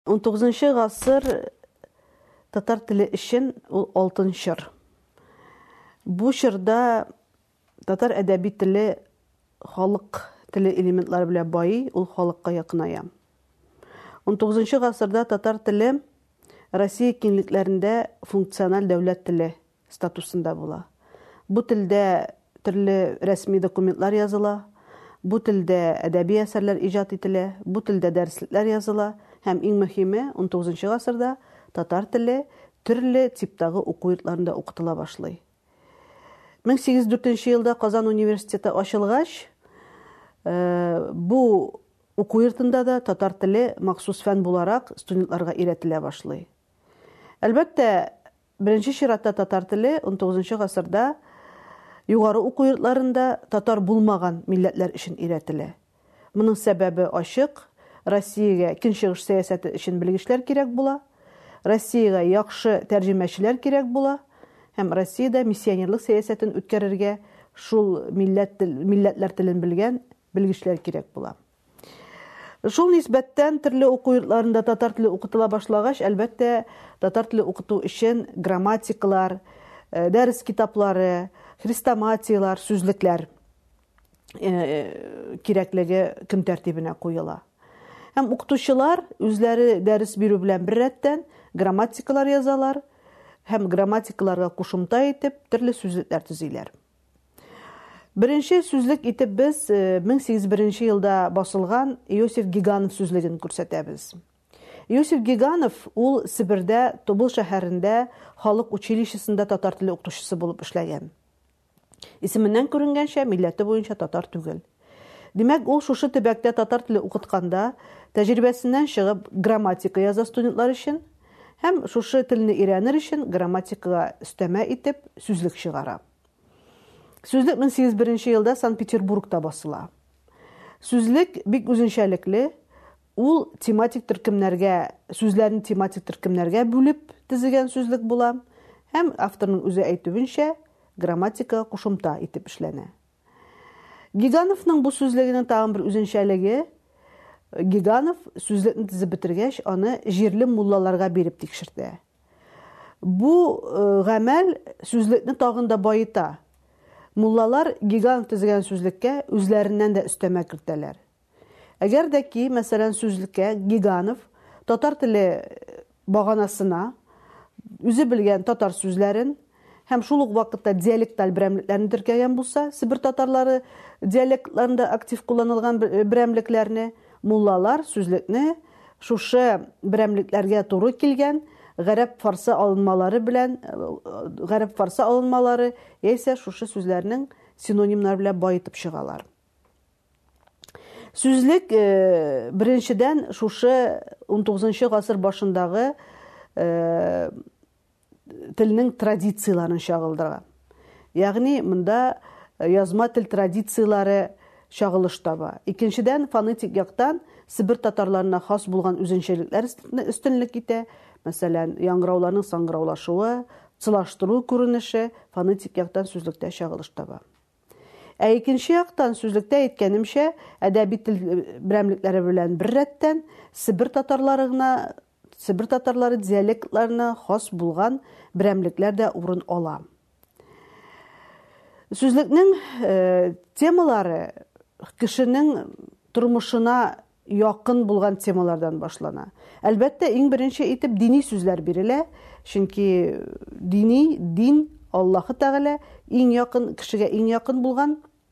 19 гасыр татар теле өчен ул алтын чор. Бу чорда татар әдәби теле халык теле элементлары белән бай, ул халыкка якыная. 19 гасырда татар теле Россия киңлекләрендә функциональ дәүләт теле статусында була. Бу телдә төрле рәсми документлар языла, бу телдә әдәби әсәрләр иҗат ителә, бу телдә дәреслекләр языла һәм иң мөһиме 19 гасырда татар теле төрле типтагы уку йортларында укытыла башлый. 1804 елда Казан университеты ачылгач, бу уку йортында да татар теле махсус фән буларак студентларга өйрәтелә башлый. Әлбәттә, беренче чиратта татар теле 19 гасырда югары уку йортларында татар булмаган милләтләр өчен өйрәтелә. Моның сәбәбе ачык. Россиягә көнчыгыш сәясәте өчен белгечләр кирәк була, Россиягә яхшы тәрҗемәчеләр кирәк була, һәм Россиядә миссионерлык сәясәтен үткәрергә шул милләтләр телен белгән белгечләр кирәк була. Шул нисбәттән төрле уку йортларында татар теле укытыла башлагач, әлбәттә, татар теле укыту өчен грамматикалар, дәрес китаплары, хрестоматиялар, сүзлекләр кирәклеге көн тәртибенә куела. Һәм укытучылар үзләре дәрес бирү белән бер рәттән грамматикалар язалар һәм грамматикаларга кушымта итеп төрле сүзлекләр төзиләр. Беренче сүзлек итеп без 1801 елда басылган Иосиф Гиганов сүзлеген күрсәтәбез. Иосиф Гиганов ул Сибирдә, Тобыл шәһәрендә халык училищесында татар теле укытучысы булып эшләгән. Исеменнән күренгәнчә, милләте буенча татар түгел. Димәк, ул шушы төбәктә татар теле укытканда тәҗрибәсеннән чыгып грамматика яза студентлар өчен һәм шушы телне өйрәнер өчен грамматикага өстәмә итеп сүзлек чыгара. Сүзлек 1801 елда Санкт-Петербургта басыла. Сүзлек бик үзенчәлекле, ул тематик төркемнәргә, сүзләрне тематик төркемнәргә бүлеп төзегән сүзлек була һәм авторның үзе әйтүенчә грамматика кушымта итеп эшләнә. Гигановның бу сүзлегенең тагын бер үзенчәлеге, Гиганов сүзлекне төзеп бетергәч, аны җирле муллаларга биреп тикшертә. Бу гамәл сүзлекне тагын да байыта. Муллалар Гиганов төзегән сүзлеккә үзләреннән дә өстәмә кертәләр. Әгәр дә ки, мәсәлән, сүзлеккә Гиганов татар теле баганасына үзе белгән татар сүзләрен һәм шул ук вакытта диалекталь берәмлекләрне теркәгән булса, Сибир татарлары диалектларында актив кулланылган берәмлекләрне, муллалар сүзлекне шушы берәмлекләргә туры килгән гарәп-фарсы алынмалары яисә шушы сүзләрнең синонимнары белән баетып чыгалар. Сүзлек беренчедән шушы 19 гасыр башындагы телнең традицияларын чагылдыра. Ягъни монда язма тел традициялары чагылыш таба. Икенчедән фонетик яктан Сибир татарларына хас булган үзенчәлекләр өстенлек итә. Мәсәлән, яңгырауларның саңгыраулашуы, цылаштыру күренеше фонетик яктан сүзлектә чагылыш таба. Ә икенче яктан сүзлектә әйткәнемчә, әдәби тел берәмлекләре белән бер рәттән Сибир татарлары диалектларына хас булган берәмлекләр дә урын ала. Сүзлекнең темалары кешенең тормышына якын булган темалардан башлана. Әлбәттә, иң беренче итеп дини сүзләр бирелә, чөнки дин Аллаһы Тәгалә иң якын кешегә иң якын булган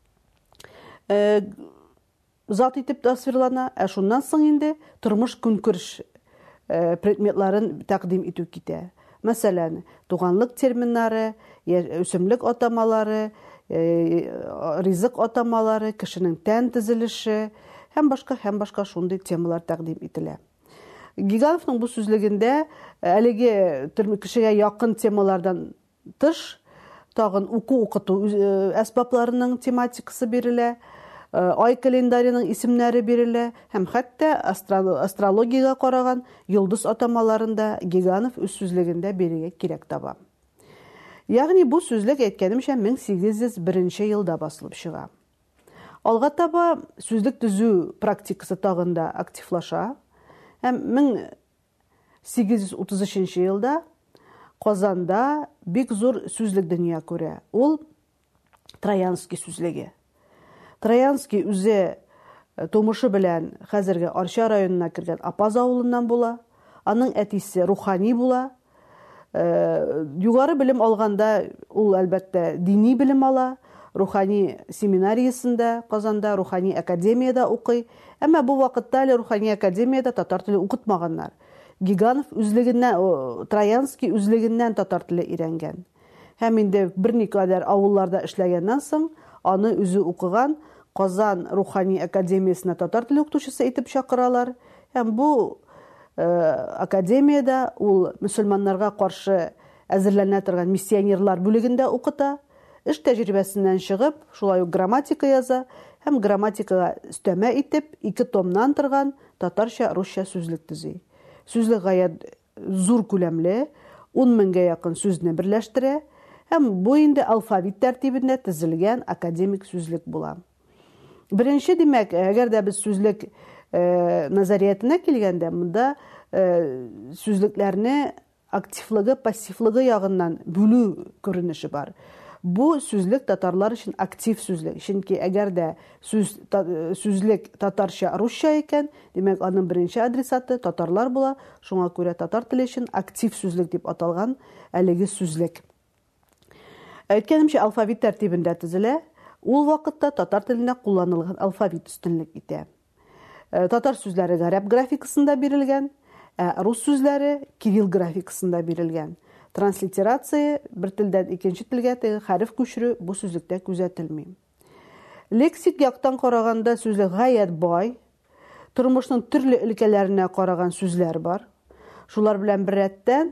зат итеп тасвирлана, ә шуннан соң инде тормыш көнкүреш предметларын тәкъдим итү китә. Мәсәлән, туганлык терминнары, үсемлек атамалары, ризык атамалары, кешенең тән төзелеше һәм башка шундый темалар тәкъдим ителә. Гигановның бу сүзлегендә әлеге кешегә якын темалардан тыш тагын укыту әсбапларының тематикасы бирелә, ай календарының исемнәре бирелә һәм хәтта астрологиягә караган йолдыз атамаларында Гиганов үз сүзлегендә бирергә кирәк таба. Ягъни бу сүзлек әйткәнемчә 1801 елда басылып чыга. Алга таба сүзлек төзү практикасы тагында активлаша һәм 1833 елда Казанда бик зур сүзлек дөнья күрә. Ул Троянский сүзлеге. Троянский үзе тумышы белән хәзерге Арча районына кергән Апаз авылыннан була. Аның әтисе рухани була. Югары белем алганда ул әлбәттә дини белем ала. Рухани семинариясында Казанда, рухани академияда укый. Әмма бу вакытта әле рухани академияда татар теле укытмаганнар. Гиганов үзлегеннән, Троянский үзлегеннән татар теле өйрәнгән. Һәм инде берникадәр авылларда эшләгәннән соң аны үзе укыган Казан рухани академиясына татар теле укытучысы итеп чакыралар. Һәм бу академияда ул мөселманнарга каршы әзерләнә торган миссионерлар бүлегендә укыта. Эш тәҗрибәсеннән чыгып, шулай ук грамматика яза һәм грамматикага өстәмә итеп 2 томнан торган татарча-русча сүзлек төзи. Сүзлек гаять зур күләмле, 10 меңгә якын сүзне берләштерә һәм бу инде алфавит тәртибендә төзелгән академик сүзлек була. Беренче, димәк, әгәр дә без сүзлек назариятына килгәндә, монда сүзлекләрне активлыгы, пассивлыгы ягыннан бүлү күренеше бар. Бу сүзлек татарлар өчен актив сүзлек. Чөнки әгәр дә сүзлек татарча, русча икән, димәк, аның беренче адресаты татарлар була. Шуңа күрә татар теле өчен актив сүзлек дип аталган әлеге сүзлек. Әйткәнемчә, алфавит тәртибендә төзелә. Ул вакытта татар телендә кулланылган алфавит өстенлек итә. Татар сүзләре гарәп графикасында бирелгән, рус сүзләре кирилл графикасында бирелгән. Транслитерация бер телдән икенче телгә хәреф күчерү бу сүзлектә күзәтелми. Лексик яктан караганда сүзлек гаять бай, тормышның төрле өлкәләренә караган сүзләр бар. Шулар белән бер рәттән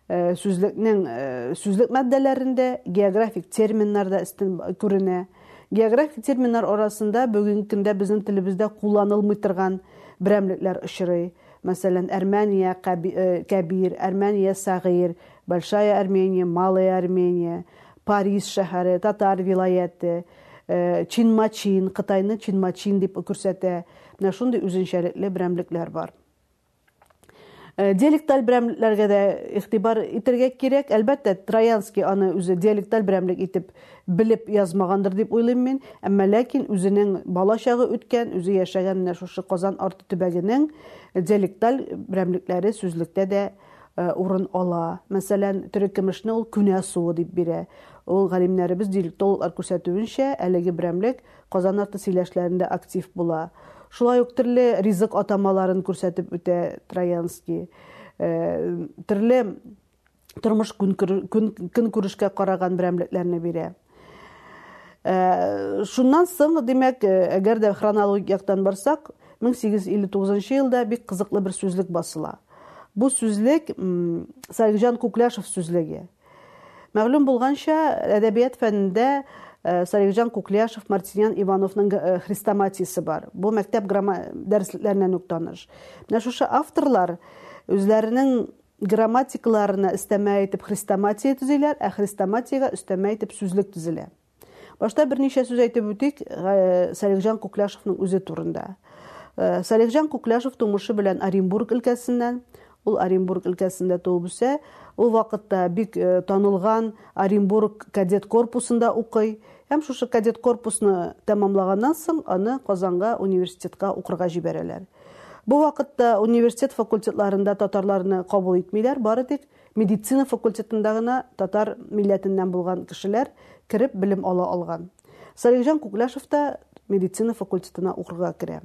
сүзлек матдәләрендә географик терминнарда өстен күренә. Географик терминнар арасында бүгенге көндә безнең телебездә кулланылмый торган берәмлекләр очрый. Мәсәлән, Армения Кабир, Армения Сагир, Большая Армения, Малая Армения, Париж шәһәре, Татар вилаяты, Чинмачин, Кытайны Чинмачин дип күрсәтә. Менә шундый үзенчәлекле берәмлекләр бар. Диалекталь берәмлекләргә дә игътибар итәргә кирәк. Әлбәттә, Троянский аны үзе диалекталь берәмлек итеп белеп язмагандыр дип уйлыйм мин. Әмма ләкин үзенең балачагы үткән, үзе яшәгән менә шушы Казан арты төбәгенең диалекталь берәмлекләре сүзлектә дә урын ала. Мәсәлән, төрекемешне ул күнә суы дип бирә. Ул галимнәребез диалектологлар күрсәтүенчә, әлеге берәмлек Казан арты сөйләшләрендә актив була. Шулай ук төрле ризык атамаларын күрсәтеп үтә Троянский. Төрле тормыш көнкүрешкә караган берәмлекләрне бирә. Шуннан соң, димәк, әгәр дә хронологик яктан барсак, 1859 елда бик кызыклы бер сүзлек басыла. Бу сүзлек Сарыкҗан Кукляшев сүзлеге. Мәгълүм булганча, әдәбият фәнендә Сарыкҗан Кукляшев, Мартиньян Ивановның хрестоматиясе бар. Бу мәктәп дәреслекләреннән үк таныш. Менә шушы авторлар үзләренең грамматикаларына өстәмә итеп хрестоматия төзиләр, ә хрестоматиягә өстәмә итеп сүзлек төзелә. Башта берничә сүз әйтеп үтик Сарыкҗан Кукляшевның үзе турында. Сарыкҗан Кукляшев тумышы белән Оренбург өлкәсеннән, ул Оренбург өлкәсендә туып үсә. Ул вакытта бик танылган Оренбург кадет корпусында укый. Һәм шушы кадет корпусны тәмамлаганнан соң аны Казанга университетка укырга җибәрәләр. Бу вакытта университет факультетларында татарларны кабул итмиләр, бары тик медицина факультетында гына татар милләтеннән булган кешеләр кирип белем ала алган. Сарыкҗан Кукляшев та медицина факультетына укырга керә.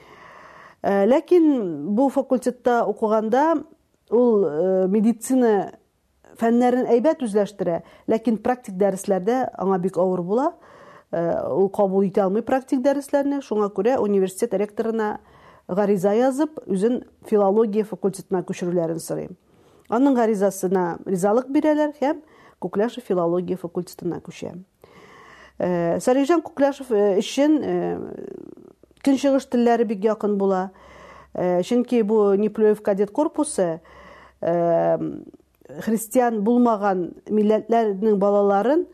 Ләкин бу факультетта укыганда ул медицина фәннәрен әйбәт үзләштерә, ләкин практик дәресләрдә аңа бик авыр була. Ул кабул итә алмый практик дәресләрне. Шуңа күрә университет ректорына гариза язып, үзен филология факультетына күчерүләрен сорый. Аның гаризасына ризалык бирәләр һәм Кукляшев филология факультетына күчә. Сарыкҗан Кукляшев өчен көнчыгыш телләре бик якын була. Чөнки бу Неплюев кадет корпусы христиан булмаган милләтләрнең балаларын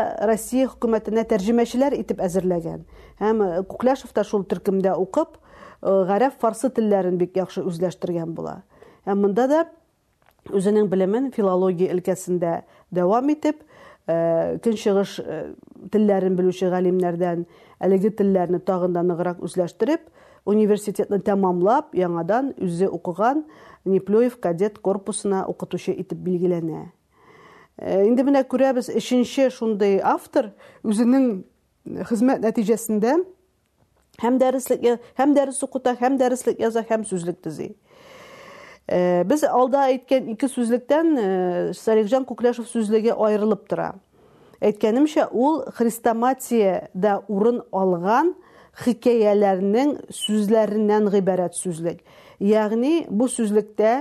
Россия хөкүмәтенә тәрҗемәчеләр итеп әзерләгән. Һәм Кукляшев та шул төркемдә укып, гарәп, фарсы телләрен бик яхшы үзләштергән була. Һәм монда да үзенең белемен филология өлкәсендә дәвам итеп, көнчыгыш телләрен белүче галимнәрдән әлеге телләрне тагын да ныграк үзләштереп, университетны тәмамлап, яңадан үзе укыган Неплюев кадет корпусына укытучы итеп билгеләнә. Инде менә күрәбез, өченче шундый автор үзенең хезмәт нәтиҗәсендә һәм дәрес укыта, һәм дәреслек яза, һәм сүзлек төзи. Без алда әйткән ике сүзлектән Салихҗан Күкләшев сүзлеге аерылып тора. Әйткәнемчә, ул хрестоматиядә урын алган хикәяләрнең сүзләреннән гыйбарәт сүзлек. Ягъни бу сүзлектә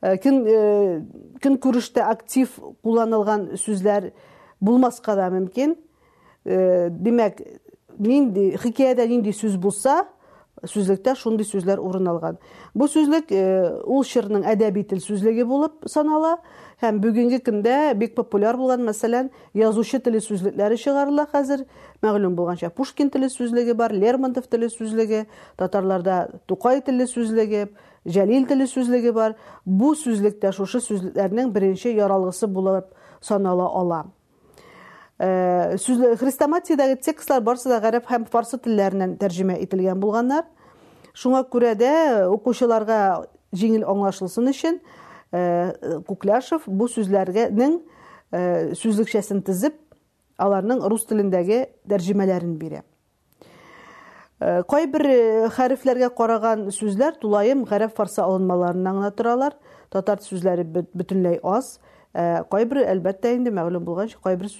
көнкүрештә актив кулланылган сүзләр булмаска да мөмкин. Димәк, хикәядә нинди сүз булса, сүзлектә шундый сүзләр урын алган. Бу сүзлек ул чорның әдәби тел сүзлеге булып санала, һәм бүгенге көндә бик популяр булган, мәсәлән, язучы теле сүзлекләре чыгарыла хәзер. Мәгълүм булганча, Пушкин теле сүзлеге бар, Лермонтов теле сүзлеге, татарларда Тукай теле сүзлеге, Җәлил теле сүзлеге бар. Бу сүзлектә шушы сүзлекләрнең беренче яралгысы булып санала ала. Хрестоматиядәге текстлар барысы да гарәп һәм фарсы телләреннән тәрҗемә ителгән булганнар. Шуңа күрә дә укучыларга җиңел аңлашылсын өчен Күкляшев бу сүзләргәнең сүзлекчәсен тизеп, аларның рус телендәге тәрҗемәләрен бирә. Кайбер хәрефләргә караган сүзләр тулаем гарәп фарсы алынмаларыннан гына торалар. Татар сүзләре бөтенләй аз. Кайбер, әлбәттә, инде мәгълүм булганча,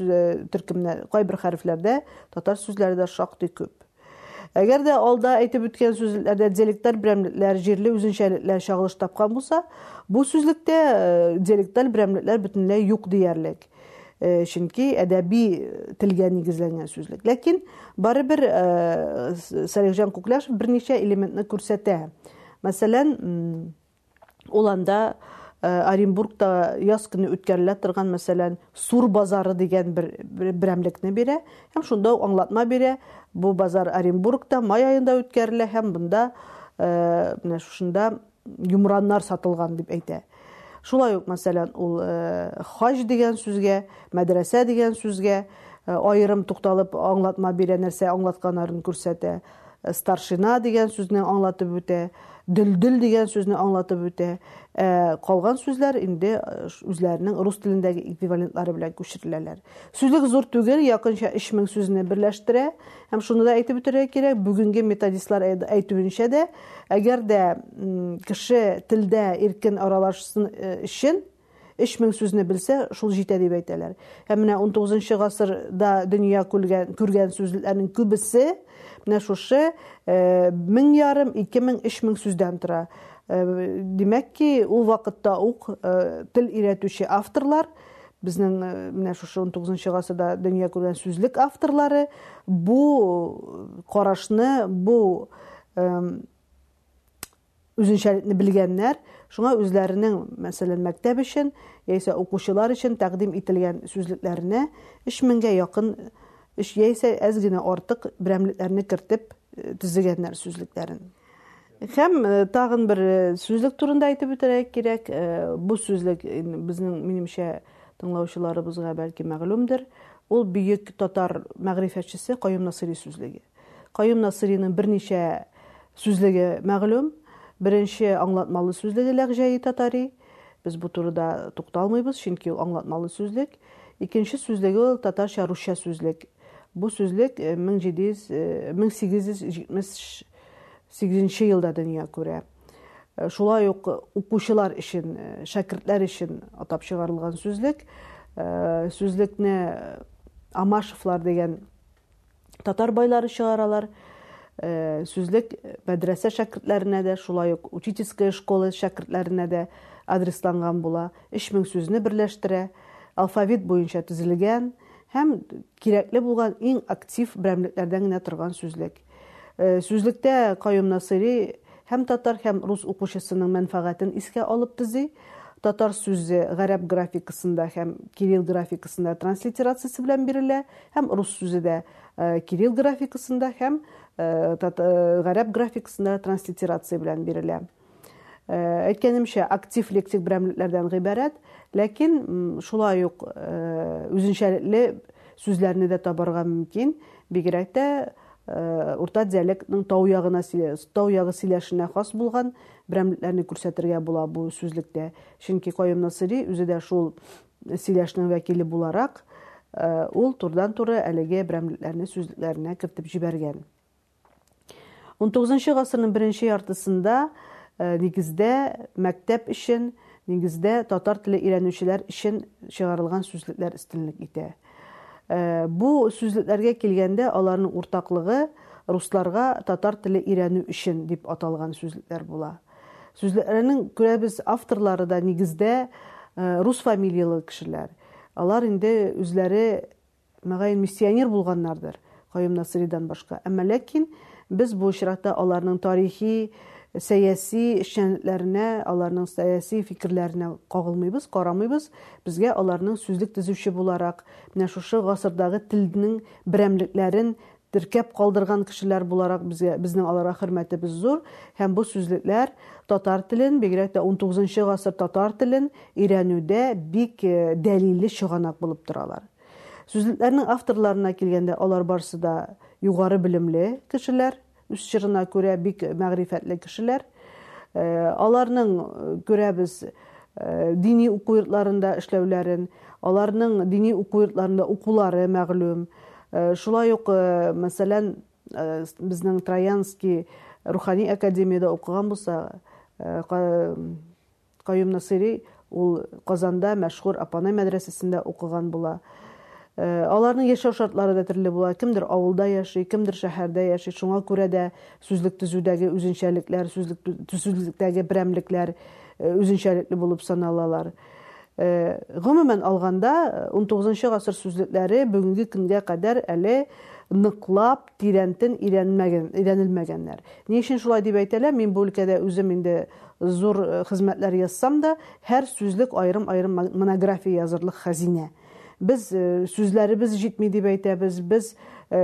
кайбер хәрефләрдә татар сүзләре дә шактый күп. Әгәр дә алда әйтеп үткән сүзләрдә диалектлар, берәмлекләр, җирле үзенчәлекләр чагылыш тапкан булса, бу сүзлектә диалектлар, берәмлекләр бөтенләй юк диярлек. Чөнки әдәби телгә нигезләнгән сүзлек. Ләкин барыбер Салихҗан Күкляшев берничә элементны күрсәтә. Мәсәлән, ул анда Оренбургта яз көне үткәрелә торган, мәсәлән, Сур базары дигән берәмлекне бирә, һәм шунда аңлатма бирә. Бу базар Оренбургта май айында үткәрелә, һәм бunda менә шушында юмраннар сатылган дип әйтә. Шулай ук, мәсәлән, ул хаҗ дигән сүзгә, мәдрәсә дигән сүзгә аерым тукталып аңлатма бирә, нәрсә аңлатканнарын күрсәтә. Старшина дигән сүзне аңлатып үтә, дөлдөл дигән сүзне аңлатып үтә. Калган сүзләр инде үзләренең рус телендәге эквивалентлары белән күчереләләр. Сүзлек зур түгел, якынча 3000 сүзне берләштерә, һәм шуны да әйтеп үтәргә кирәк, бүгенге методистлар әйтүенчә дә, әгәр дә кеше телдә иркен аралашсын өчен 3000 сүзне белсә, шул җитә дип әйтәләр. Һәм менә 19 гасырда дөнья күргән сүзлекләрнең күбесе менә шушы 1500, 2000, 3000 сүздән тора. Димәк ки, ул вакытта ук тел өйрәтүче авторлар, безнең менә шушы 19 гасырда дөнья күргән сүзлек авторлары бу карашны, бу үзенчәлекне белгәннәр, шуңа үзләренең, мәсәлән, мәктәп өчен, яисә укучылар өчен тәкъдим ителгән сүзлекләренә 3000гә якын, яисә әз генә артык берәмлекләрне кертеп төзегәннәр сүзлекләрен. Һәм тагын бер сүзлек турында әйтеп үтәргә кирәк. Бу сүзлек безнең, минемчә, тыңлаучыларыбызга бәлки мәгълүмдер. Ул бөек татар мәгърифәтчесе Каюм Насыйри сүзлеге. Каюм Насыйриның берничә сүзлеге мәгълүм. Беренче аңлатмалы сүзлеге ләгъҗәи татари. Без бу турыда тукталмыйбыз, чөнки ул аңлатмалы сүзлек. Икенче сүзлеге ул татарча-русча сүзлек. Бу сүзлек 1878 елда дөнья күрә. Шулай ук укучылар өчен, шәкертләр өчен атап чыгарылган сүзлек. Сүзлекне Амашевлар дигән татар байлары чыгаралар. Сүзлек мәдрәсә шәкертләренә дә, шулай ук учительская школа шәкертләренә дә адресланган була. 3000 сүзне берләштерә, алфавит буенча төзелгән һәм кирәкле булган иң актив берәмлекләрдән генә торган сүзлек. Сүзлектә Каюм Насыйри һәм татар, һәм рус укучысының мәнфәгатен искә алып төзи. татар сүзе гарәп графикасында һәм кирилл графикасында транслитерациясы белән бирелә, һәм рус сүзе дә кирилл графикасында һәм гарәп графикасында транслитерация белән бирелә. Әйткәнемчә, актив лексик берәмлекләрдән гыйбарәт, ләкин шулай ук үзенчәлекле сүзләрне дә табарга мөмкин. Бигрәк тә урта диалектның тау ягы сөйләшенә хас булган берәмлекләрне күрсәтергә була бу сүзлектә. Чөнки Каюм Насыйри үзе дә шул сөйләшнең вәкиле буларак, ул турыдан-туры әлеге берәмлекләрне сүзлекләренә кертеп җибәргән. 19 гасырның беренче яртысында нигездә мәктәп өчен, нигездә татар теле өйрәнүчеләр өчен чыгарылган сүзлекләр өстенлек итә. Бу сүзлекләргә килгәндә аларның уртаклыгы русларга татар теле өйрәнү өчен дип аталган сүзлекләр була. Сүзлекләрнең күрәбез авторлары да нигездә рус фамилиялы кешеләр. Алар инде үзләре мәгәен миссионер булганнардыр, Каюм Насыйридан башка. Әмма ләкин без бу очракта аларның тарихи, сәяси эшчәнлекләренә, аларның сәяси фикерләренә кагылмыйбыз, карамыйбыз. Безгә аларның сүзлек төзүче буларак, менә шушы гасырдагы телнең берәмлекләрен теркәп калдырган кешеләр буларак безнең аларга хөрмәтебез зур, һәм бу сүзлекләр татар телен, бигрәк тә 19 гасыр татар телен өйрәнүдә бик дәлилле чыганак булып торалар. Сүзлекләрнең авторларына килгәндә, алар барысы да югары белемле кешеләр, үз чорына күрә бик мәгърифәтле кешеләр. Аларның күрәбез дини уку йортларында эшләүләрен, аларның дини уку йортларында укулары мәгълүм. Шулай ук, мәсәлән, безнең Троянский рухани академияда укыган булса, Каюм Насыйри ул Казанда мәшһүр Апанай мәдрәсәсендә укыган була. Аларның яшәү шартлары да төрле була. Кемдер авылда яши, кемдер шәһәрдә яши. Шуңа күрә дә сүзлек төзүдәге үзенчәлекләр, сүзлектәге берәмлекләр үзенчәлекле булып саналалар. Гомумән алганда 19 гасыр сүзлекләре бүгенге көнгә кадәр әле ныклап, тирәнтен өйрәнелмәгәннәр. Ни өчен шулай дип әйтәләр? Мин бу өлкәдә үзем инде зур хезмәтләр язсам да, һәр сүзлек аерым-аерым монография язырлык хәзинә. Biz сүзләребез җитми дип әйтәбез. Без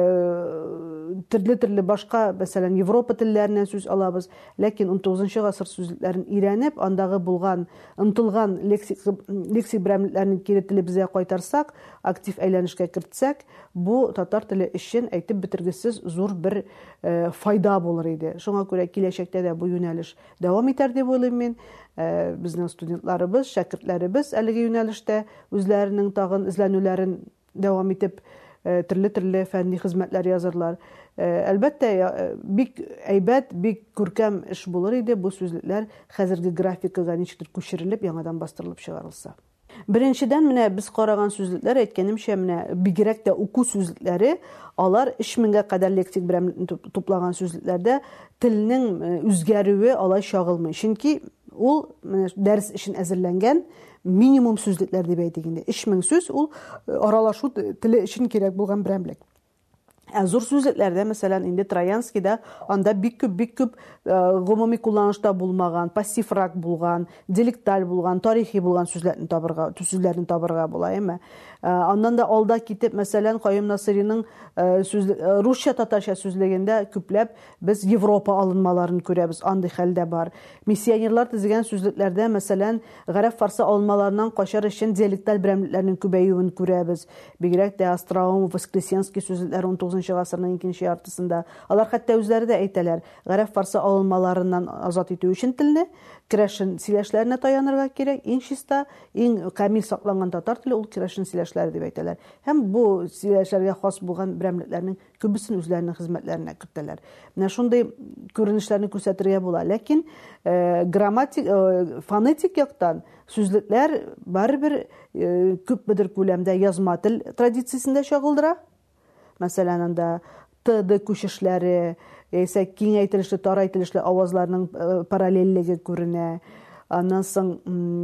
төрле başka, мәсәлән, Европа телләреннән сүз алабыз. Ләкин 19 гасыр сүзлекләрен өйрәнеп, андагы булган, ынтылган лексик берәмлекләрне кире телебезгә кайтарсак, актив әйләнешкә кертсәк, бу татар теле өчен әйтеп бетергесез зур бер файда булыр иде. Шуңа күрә киләчәктә дә бу юнәлеш дәвам итәр дип уйлыйм мин. Безнең студентларыбыз, шәкертләребез әлеге юнәлештә үзләренең тагын эзләнүләрен дәвам итеп төрле фәнни хезмәтләр язырлар. Әлбәттә, бик әйбәт, бик күркәм эш булыр иде бу сүзлекләр хәзерге графикага ничектер күчерелеп, яңадан бастырылып чыгарылса. Беренчедән, менә без караган сүзлекләр, әйткәнемчә, менә бигрәк тә уку сүзлекләре, алар 3000-гә кадәр лексик берәмлекне туплаган сүзлекләрдә телнең үзгәрүе алай чагылмый. Чөнки ул дәрес өчен әзерләнгән минимум сүзлекләр дип әйтик инде. 3000 сүз ул аралашу теле өчен кирәк булган берәмлек. Зур сүзлекләрдә, мәсәлән, инде Троянскийда анда бик күп гомуми кулланышта булмаган, пассиврак булган, диалекталь булган, тарихи булган сүзләрне табарга була, әмма аннан да алда китеп, мәсәлән, Каюм Насыйриның русча татарча сүзлегендә күпләп без Европа алынмаларын күрәбез, андый хәлдә бар. Миссионерлар төзегән сүзлекләрдә, мәсәлән, гарәп фарсы алынмаларыннан качар өчен диалекталь берәмлекләрнең күбәюен күрәбез. Бигрәк тә Остроумов, Воскресенский сүзлекләр 19 гасырның икенче яртысында. Алар хәтта үзләре дә әйтәләр, гарәп фарсы алынмаларыннан азат итү өчен телне керәшен сөйләшләренә таянырга кирәк. Иң чиста, иң камил сакланган татар теле ул керәшен сөйләшләре дип әйтәләр. Һәм бу сөйләшләргә хас булган берәмлекләрнең күбесен үзләренең хезмәтләренә кертәләр. Менә шундый күренешләрне күрсәтергә була. Ләкин фонетик яктан сүзлекләр барыбер күпмедер күләмдә язма тел традициясендә чагылдыра. Мәсәлән, анда т-д күчешләре, яисә киңәйтелешле, тарайтылышлы авазларның параллельлеге күренә. Аннан соң,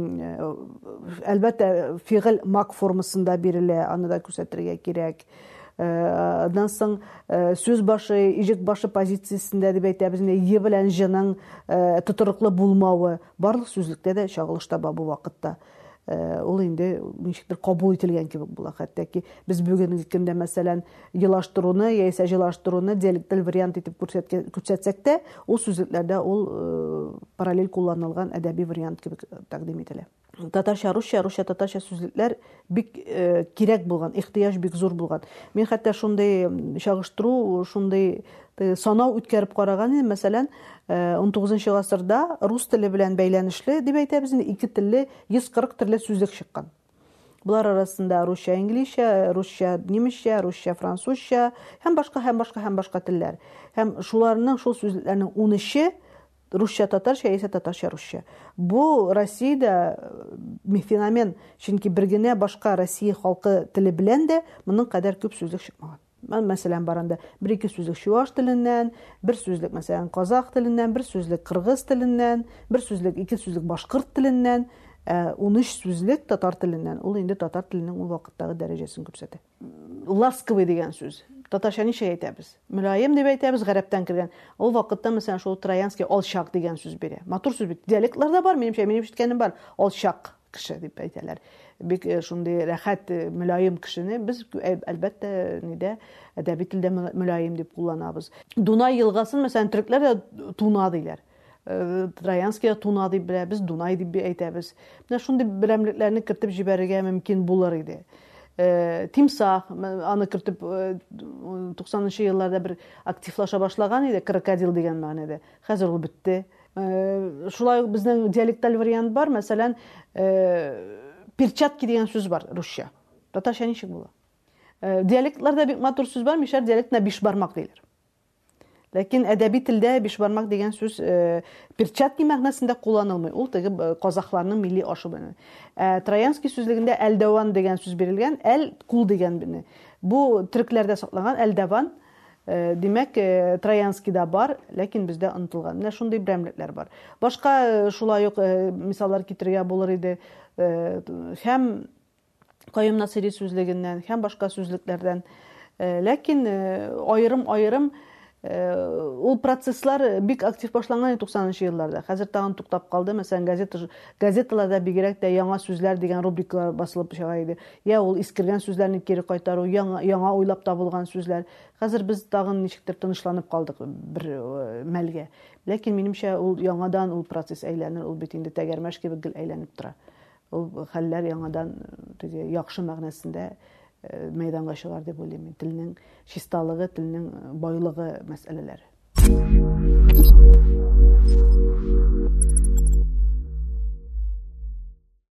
әлбәттә, фигыль мак формасында бирелә, аны да күрсәтергә кирәк. Андан соң сөз башы, ижек башы позициясында дип әйтәбез, е белән җының тотрыклы булмавы барлык сүзлектә дә чагылыш таба бу вакытта. Ул инде ничектер кабул ителгән кебек була. Хәтта ки без бүгенге көндә мәсәлән елаштыруны яисә җилаштыруны диалекталь вариант итеп күрсәтсәк тә, ул сүзлекләрдә ул параллель кулланылган әдәби вариант кебек тәкъдим ителә. Татарча, русча, русча-татарча сүзлекләр бик кирәк булган, ихтыяҗ бик зур булган. Мин хәтта шундый чагыштыру, шундый санау үткәреп караган идем. Мәсәлән, 19 гасырда рус теле белән бәйләнешле дип әйтәбез, ике телле 140 төрле сүзлек чыккан. Булар арасында русча, инглизчә, русча, немецчә, русча, французча һәм башка телләр. Һәм шуларның, шул сүзлекләрнең 13-е русча татарча яисә татарча русча. Бу Россиядә феномен, чөнки бер генә башка Россия халкы теле белән дә моның кадәр күп сүзлек чыкмаган. Мәсәлән, баранда бер-ике сүзлек чуаш теленнән, бер сүзлек мәсәлән казах теленнән, бер сүзлек кыргыз теленнән, бер сүзлек, ике сүзлек башкорт теленнән, 13 сүзлек татар теленнән. Ул инде татар теленең ул вакыттагы дәрәҗәсен күрсәтә. Ласковый дигән сүз. Татарча ничә әйтәбез? Мөлаем дип әйтәбез, гарәптән кергән. Ул вакытта мәсәлән шул троянский алчак дигән сүз бирә. Матур сүз бит. Диалектларда бар, минем ишеткәнем бар. Алчак кеше дип әйтәләр. Бик шундый рәхәт, мөлаем кешене без әлбәттә әдәби телдә мөлаем дип кулланабыз. Дунай елгасын мәсәлән төрекләр дә Туна диләр. Троянский Туна дип белә, без Дунай дип әйтәбез. Менә шундый берәмлекләрне кертеп җибәрергә мөмкин булыр иде. Тимсах, аны кертеп 90-нчы елларда бер активлаша башлаган иде, крокодил дигән мәгънәдә. Хәзер ул бетте. Шулай ук безнең диалекталь вариант бар, мәсәлән, перчатки дигән сүз бар русча. Татарча ничек була? Диалектларда бик матур сүз бар, мишәр диалектна биш бармак диләр. Ләкин әдәби телдә биш бармак дигән сүз перчатки мәгънәсендә кулланылмый. Ул теге казахларның милли ашы белән. Троянский сүзлегендә әлдәван дигән сүз бирелгән, әл кул дигән бине. Бу төрекләрдә сакланган әлдәван, димәк, Троянскийда бар, ләкин бездә онытылган. Менә шундый берәмлекләр бар. Башка шулай ук мисаллар китерергә булыр иде. Һәм Каюм Насыйри сүзлегеннән, һәм башка сүзлекләрдән. Ләкин аерым ул процесслар бик актив башланган 90-нчы елларда. Хәзер тагын туктап калды. Мәсәлән, газеталарда бигрәк тә яңа сүзләр дигән рубрикалар басылып чыга иде. Я ул искергән сүзләрне кире кайтару, яңа уйлап табылган сүзләр. Хәзер без тагын ничектер тынычланып калдык бер мәлгә. Ләкин минемчә ул яңадан ул процесс әйләнер, ул бит инде тәгәрмәш кебек гел әйләнеп тора. Ул хәлләр яңадан теге яхшы мәгънәсендә мәйданга чыгар дип уйлыйм. Телнең чисталыгы, телнең байлыгы мәсьәләләре.